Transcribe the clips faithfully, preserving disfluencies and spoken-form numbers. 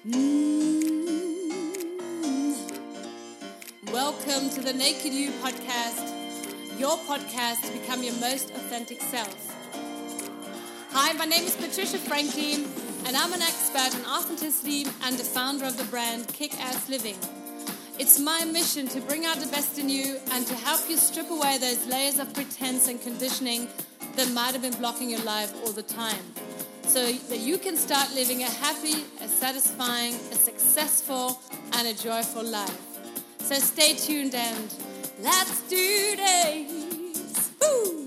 Welcome to the Naked You podcast, your podcast to become your most authentic self. Hi, my name is Patricia Franklin, and I'm an expert in authenticity and the founder of the brand Kick-Ass Living. It's my mission to bring out the best in you and to help you strip away those layers of pretense and conditioning that might have been blocking your life all the time, so that you can start living a happy, a satisfying, a successful, and a joyful life. So stay tuned and let's do this! Woo!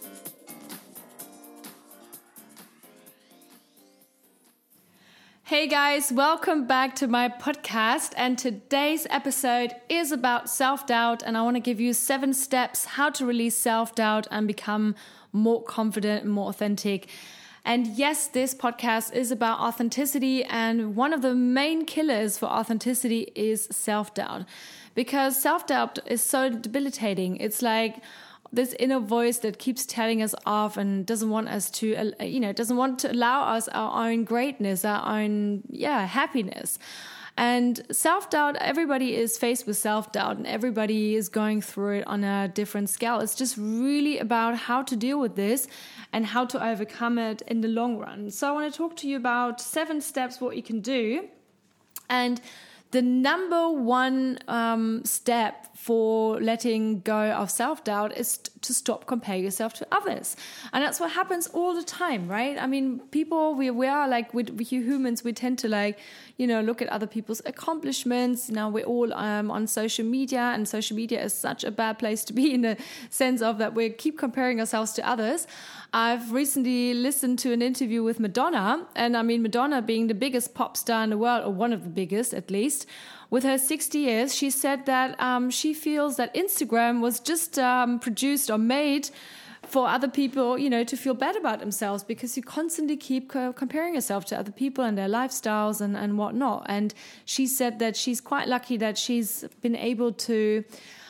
Hey guys, welcome back to my podcast, and today's episode is about self-doubt, and I want to give you seven steps how to release self-doubt and become more confident and more authentic. And yes, this podcast is about authenticity, and one of the main killers for authenticity is self-doubt, because self-doubt is so debilitating. It's like this inner voice that keeps telling us off and doesn't want us to, you know, doesn't want to allow us our own greatness, our own, yeah, happiness. And self-doubt, everybody is faced with self-doubt and everybody is going through it on a different scale. It's just really about how to deal with this and how to overcome it in the long run. So I want to talk to you about seven steps what you can do. And the number one um, step for letting go of self-doubt is t- to stop comparing yourself to others. And that's what happens all the time, right? I mean, people, we, we are like, we, we humans, we tend to like, you know, look at other people's accomplishments. Now we're all um, on social media, and social media is such a bad place to be in the sense of that we keep comparing ourselves to others. I've recently listened to an interview with Madonna, and I mean, Madonna being the biggest pop star in the world, or one of the biggest at least, with her sixty years, she said that um, she feels that Instagram was just um, produced or made for other people, you know, to feel bad about themselves, because you constantly keep co- comparing yourself to other people and their lifestyles and, and whatnot. And she said that she's quite lucky that she's been able to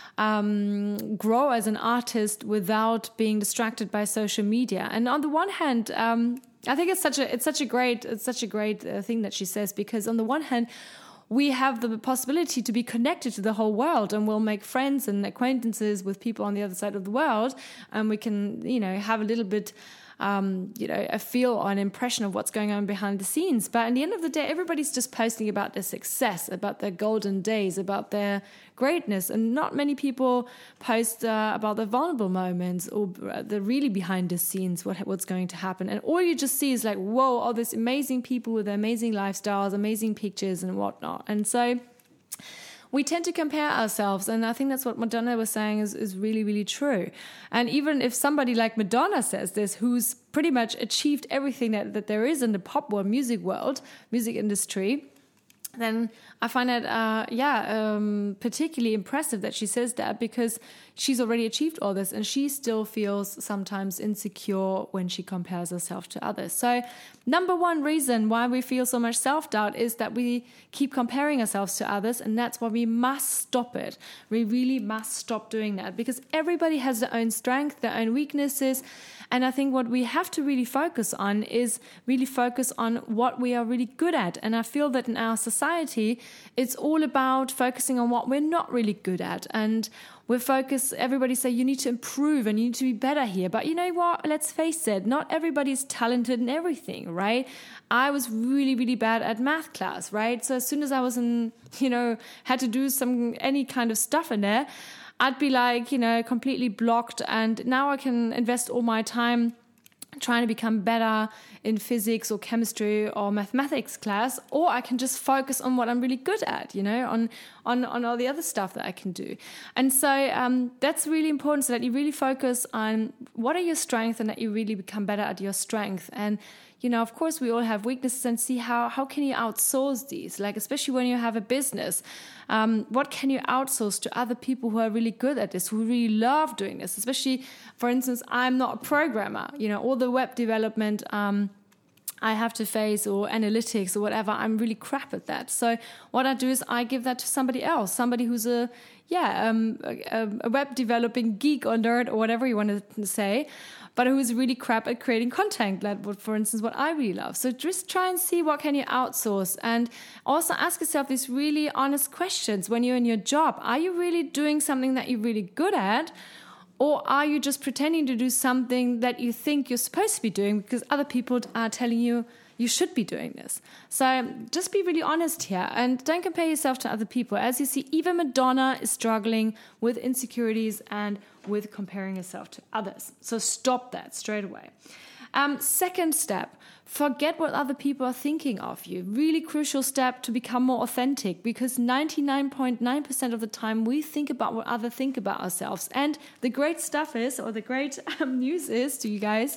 Um, grow as an artist without being distracted by social media. And on the one hand, um, I think it's such a it's such a great it's such a great uh, thing that she says, because on the one hand, we have the possibility to be connected to the whole world, and we'll make friends and acquaintances with people on the other side of the world, and we can, you know, have a little bit, um, you know, a feel or an impression of what's going on behind the scenes. But at the end of the day, everybody's just posting about their success, about their golden days, about their greatness, and not many people post uh, about the vulnerable moments or the really behind the scenes, what what's going to happen. And all you just see is like, whoa, all these amazing people with amazing lifestyles, amazing pictures and whatnot. And so we tend to compare ourselves, and I think that's what Madonna was saying is, is really, really true. And even if somebody like Madonna says this, who's pretty much achieved everything that, that there is in the pop world, music world, music industry, then I find it, uh, yeah, um, particularly impressive that she says that, because she's already achieved all this and she still feels sometimes insecure when she compares herself to others. So number one reason why we feel so much self-doubt is that we keep comparing ourselves to others, and that's why we must stop it. We really must stop doing that, because everybody has their own strength, their own weaknesses. And I think what we have to really focus on is really focus on what we are really good at. And I feel that in our society, it's all about focusing on what we're not really good at. And we're focused, everybody say you need to improve and you need to be better here. But you know what? Let's face it, not everybody's talented in everything, right? I was really, really bad at math class, right? So as soon as I was in, you know, had to do some, any kind of stuff in there, I'd be like, you know, completely blocked. And now I can invest all my time trying to become better in physics or chemistry or mathematics class, or I can just focus on what I'm really good at, you know, on on, on all the other stuff that I can do. And so um, that's really important, so that you really focus on what are your strengths and that you really become better at your strength. And, you know, of course, we all have weaknesses, and see how, how can you outsource these? Like, especially when you have a business, um, what can you outsource to other people who are really good at this, who really love doing this? Especially, for instance, I'm not a programmer, you know, all the web development, um, I have to face, or analytics or whatever, I'm really crap at that. So what I do is I give that to somebody else, somebody who's a, yeah, um, a, a web developing geek or nerd or whatever you want to say. but who is really crap at creating content, like what, for instance, what I really love. So just try and see what can you outsource, and also ask yourself these really honest questions when you're in your job. Are you really doing something that you're really good at? Or are you just pretending to do something that you think you're supposed to be doing because other people are telling you you should be doing this? So just be really honest here and don't compare yourself to other people. As you see, even Madonna is struggling with insecurities and with comparing yourself to others. So stop that straight away. Um, second step, forget what other people are thinking of you. Really crucial step to become more authentic, because ninety-nine point nine percent of the time we think about what others think about ourselves. And the great stuff is, or the great um, news is to you guys,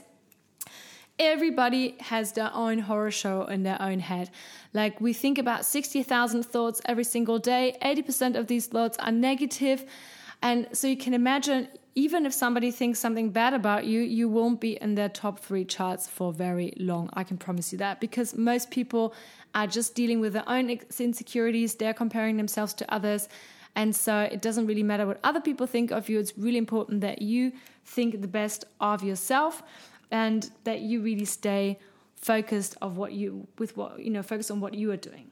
everybody has their own horror show in their own head. Like, we think about sixty thousand thoughts every single day. eighty percent of these thoughts are negative. And so you can imagine, even if somebody thinks something bad about you, you won't be in their top three charts for very long. I can promise you that, because most people are just dealing with their own insecurities. They're comparing themselves to others. And so it doesn't really matter what other people think of you. It's really important that you think the best of yourself, and that you really stay focused of what you with what you know, focus on what you are doing.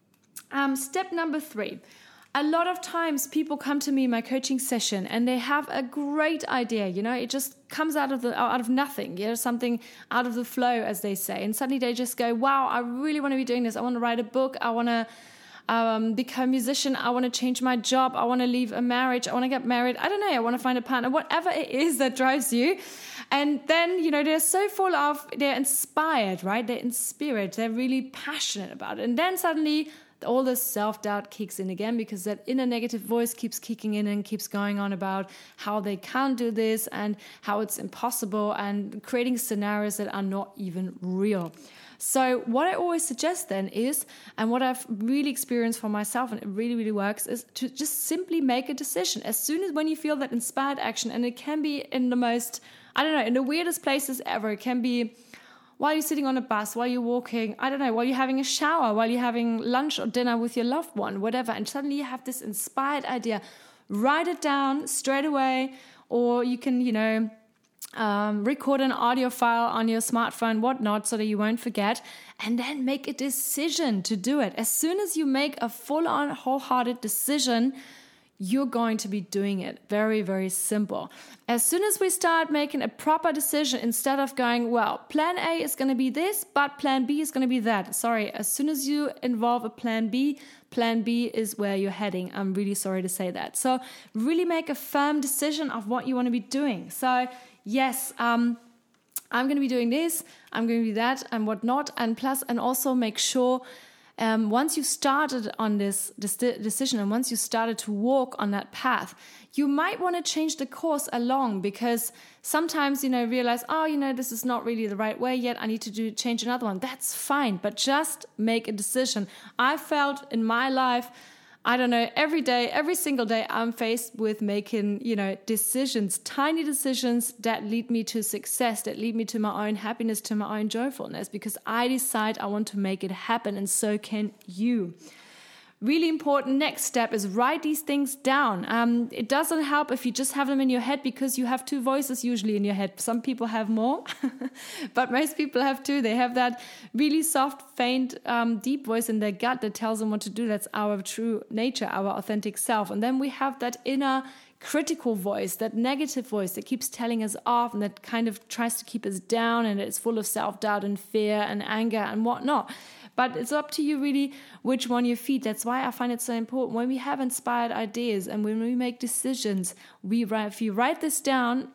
Um, step number three. A lot of times people come to me in my coaching session and they have a great idea, you know, it just comes out of the out of nothing, you know, something out of the flow, as they say. And suddenly they just go, wow, I really want to be doing this. I want to write a book. I want to um, become a musician. I want to change my job. I want to leave a marriage. I want to get married. I don't know. I want to find a partner, whatever it is that drives you. And then, you know, they're so full of, they're inspired, right? They're inspired. They're really passionate about it. And then suddenly all this self-doubt kicks in again, because that inner negative voice keeps kicking in and keeps going on about how they can't do this and how it's impossible, and creating scenarios that are not even real. So what I always suggest then is, and what I've really experienced for myself, and it really, really works, is to just simply make a decision. As soon as when you feel that inspired action, and it can be in the most, I don't know, in the weirdest places ever. It can be while you're sitting on a bus, while you're walking, I don't know, while you're having a shower, while you're having lunch or dinner with your loved one, whatever. And suddenly you have this inspired idea. Write it down straight away, or you can, you know, um, record an audio file on your smartphone, whatnot, so that you won't forget, and then make a decision to do it. As soon as you make a full-on, wholehearted decision, you're going to be doing it. Very, very simple. As soon as we start making a proper decision, instead of going, well, plan A is going to be this, but plan B is going to be that. Sorry, as soon as you involve a plan B, plan B is where you're heading. I'm really sorry to say that. So really make a firm decision of what you want to be doing. So yes, um, I'm going to be doing this, I'm going to do that, and whatnot. And plus, and also make sure Um, once you started on this, this decision, and once you started to walk on that path, you might want to change the course along, because sometimes, you know, realize, oh, you know, this is not really the right way yet. I need to do change another one. That's fine, but just make a decision. I felt in my life, I don't know, every day, every single day, I'm faced with making, you know, decisions, tiny decisions that lead me to success, that lead me to my own happiness, to my own joyfulness, because I decide I want to make it happen, and so can you. Really important next step is write these things down. Um, it doesn't help if you just have them in your head, because you have two voices usually in your head. Some people have more, but most people have two. They have that really soft, faint, um, deep voice in their gut that tells them what to do. That's our true nature, our authentic self. And then we have that inner critical voice, that negative voice that keeps telling us off and that kind of tries to keep us down, and it's full of self-doubt and fear and anger and whatnot. But it's up to you really which one you feed. That's why I find it so important when we have inspired ideas and when we make decisions, we write, if you write this down,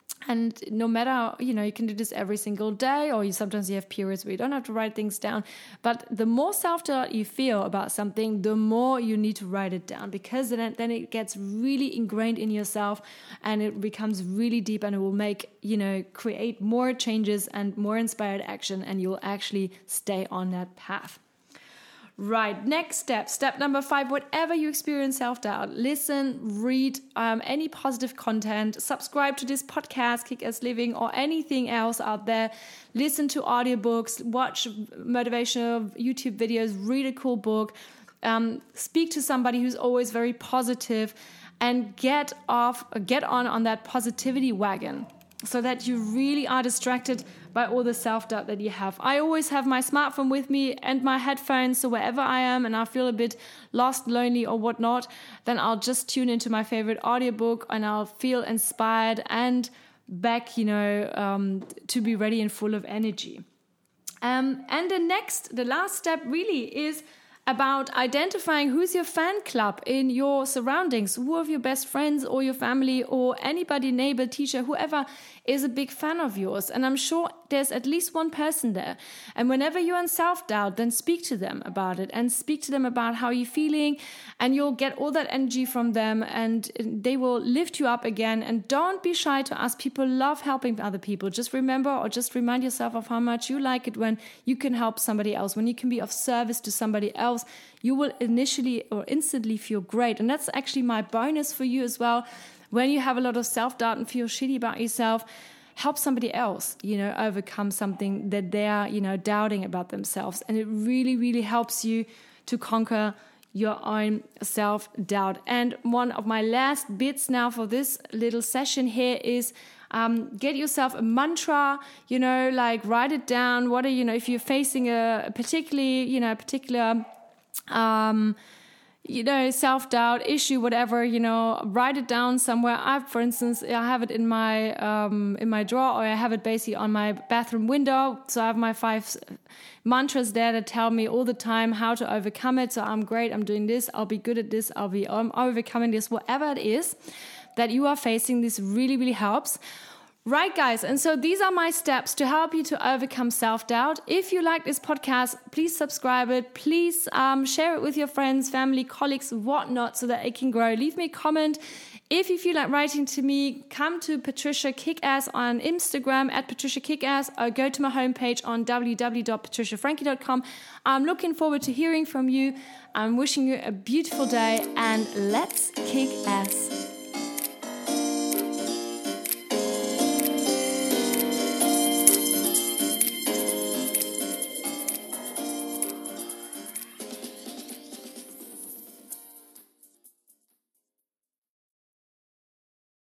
and no matter, you know, you can do this every single day, or you sometimes you have periods where you don't have to write things down. But the more self-doubt you feel about something, the more you need to write it down, because then, then it gets really ingrained in yourself, and it becomes really deep, and it will make, you know, create more changes and more inspired action, and you'll actually stay on that path. Right, next step, step number five, whatever you experience self-doubt, listen, read um, any positive content, subscribe to this podcast, Kick-Ass Living, or anything else out there. Listen to audiobooks, watch motivational YouTube videos, read a cool book, um, speak to somebody who's always very positive, and get off, get on on that positivity wagon. so that you really are distracted by all the self-doubt that you have. I always have my smartphone with me and my headphones, so wherever I am and I feel a bit lost, lonely or whatnot, then I'll just tune into my favorite audiobook and I'll feel inspired and back, you know, um, to be ready and full of energy. Um, and the next, the last step really is about identifying who's your fan club in your surroundings, who are your best friends or your family or anybody, neighbor, teacher, whoever is a big fan of yours. And I'm sure there's at least one person there. And whenever you're in self-doubt, then speak to them about it and speak to them about how you're feeling, and you'll get all that energy from them and they will lift you up again. And don't be shy to ask. People love helping other people. Just remember or just remind yourself of how much you like it when you can help somebody else, when you can be of service to somebody else. You will initially or instantly feel great. And that's actually my bonus for you as well. When you have a lot of self-doubt and feel shitty about yourself, help somebody else, you know, overcome something that they're, you know, doubting about themselves. And it really, really helps you to conquer your own self-doubt. And one of my last bits now for this little session here is Um, get yourself a mantra, you know, like write it down. What are, you know, if you're facing a, a particularly, you know, a particular, um, you know, self-doubt issue, whatever, you know, write it down somewhere. I, for instance, I have it in my, um, in my drawer, or I have it basically on my bathroom window. So I have my five mantras there that tell me all the time how to overcome it. So I'm great. I'm doing this. I'll be good at this. I'll be I'm overcoming this, whatever it is that you are facing. This really, really helps. Right, guys, and so these are my steps to help you to overcome self-doubt. If you like this podcast, please subscribe it. Please um, share it with your friends, family, colleagues, whatnot, so that it can grow. Leave me a comment. If you feel like writing to me, come to Patricia Kickass on Instagram at Patricia Kickass, or go to my homepage on w w w dot patricia frankie dot com. I'm looking forward to hearing from you. I'm wishing you a beautiful day, and let's kick ass.